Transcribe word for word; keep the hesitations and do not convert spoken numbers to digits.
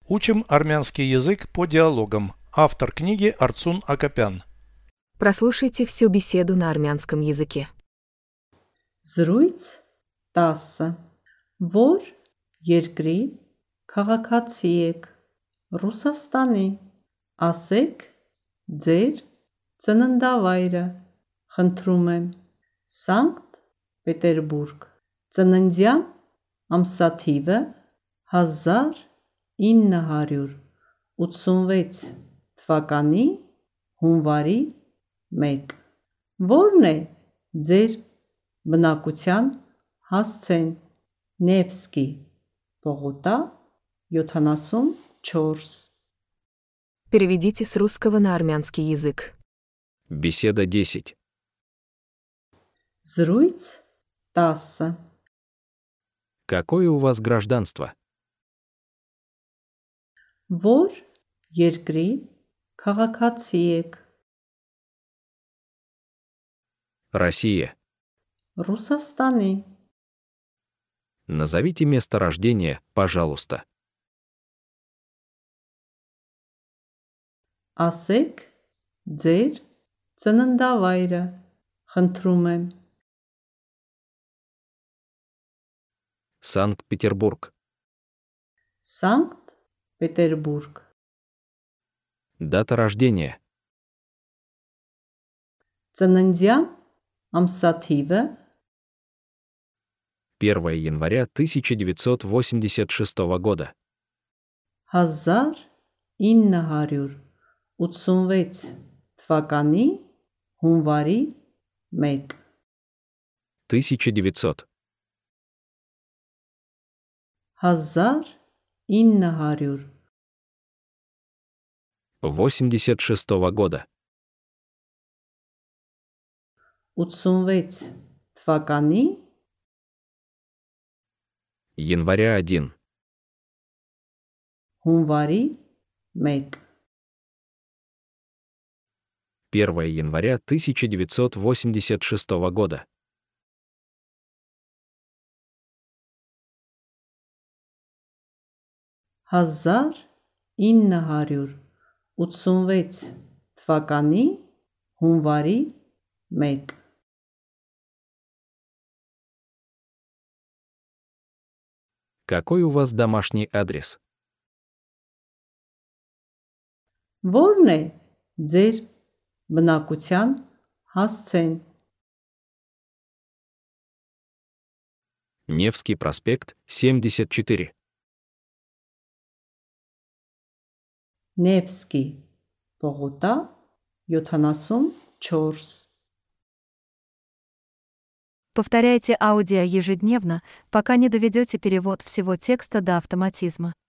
Учим армянский язык по диалогам. Автор книги Арцун Акопян. Прослушайте всю беседу на армянском языке. Զրույց տասը Որ երկրի քաղաքացի եք? Ռուսաստանի։ Ասեք ձեր ծննդավայրը։ Խնդրում եմ։ Սանկտ Պետերբուրգ։ Ծննդյան ամսաթիվը հազար ինը հարյուր ութսունվեց թվականի հունվարի մեկ։ Որն է ձեր բնակության հասցեն? Նևսկի Պողոտա յոթանասունչորս։ Переведите с русского на армянский язык. Беседа десять. Զրույց տասը Какое у вас гражданство? Որ երկրի քաղաքացի եք? Россия. Ռուսաստանի։ Назовите место рождения, пожалуйста. Ասեք ձեր ծննդավայրը։ Խնդրում եմ։ Санкт-Петербург. Սանկտ Պետերբուրգ։ Дата рождения. Ծննդյան ամսաթիվը первое января тысяча девятьсот восемьдесят шестого года. հազար ինը հարյուր ութսունվեց թվականի հունվարի մեկ։ тысяча девятьсот. հազար ինը հարյուր восемьдесят шестого года. ութսունվեց թվականի января один. հունվարի մեկ։ первое января тысяча девятьсот восемьдесят шестого года. հազար ինը հարյուր ութսունվեց թվականի հունվարի մեկ։ Какой у вас домашний адрес? Որն է ձեր բնակության հասցեն? Невский проспект, семьдесят четыре. Նևսկի Պողոտա յոթանասունչորս։ Повторяйте аудио ежедневно, пока не доведете перевод всего текста до автоматизма.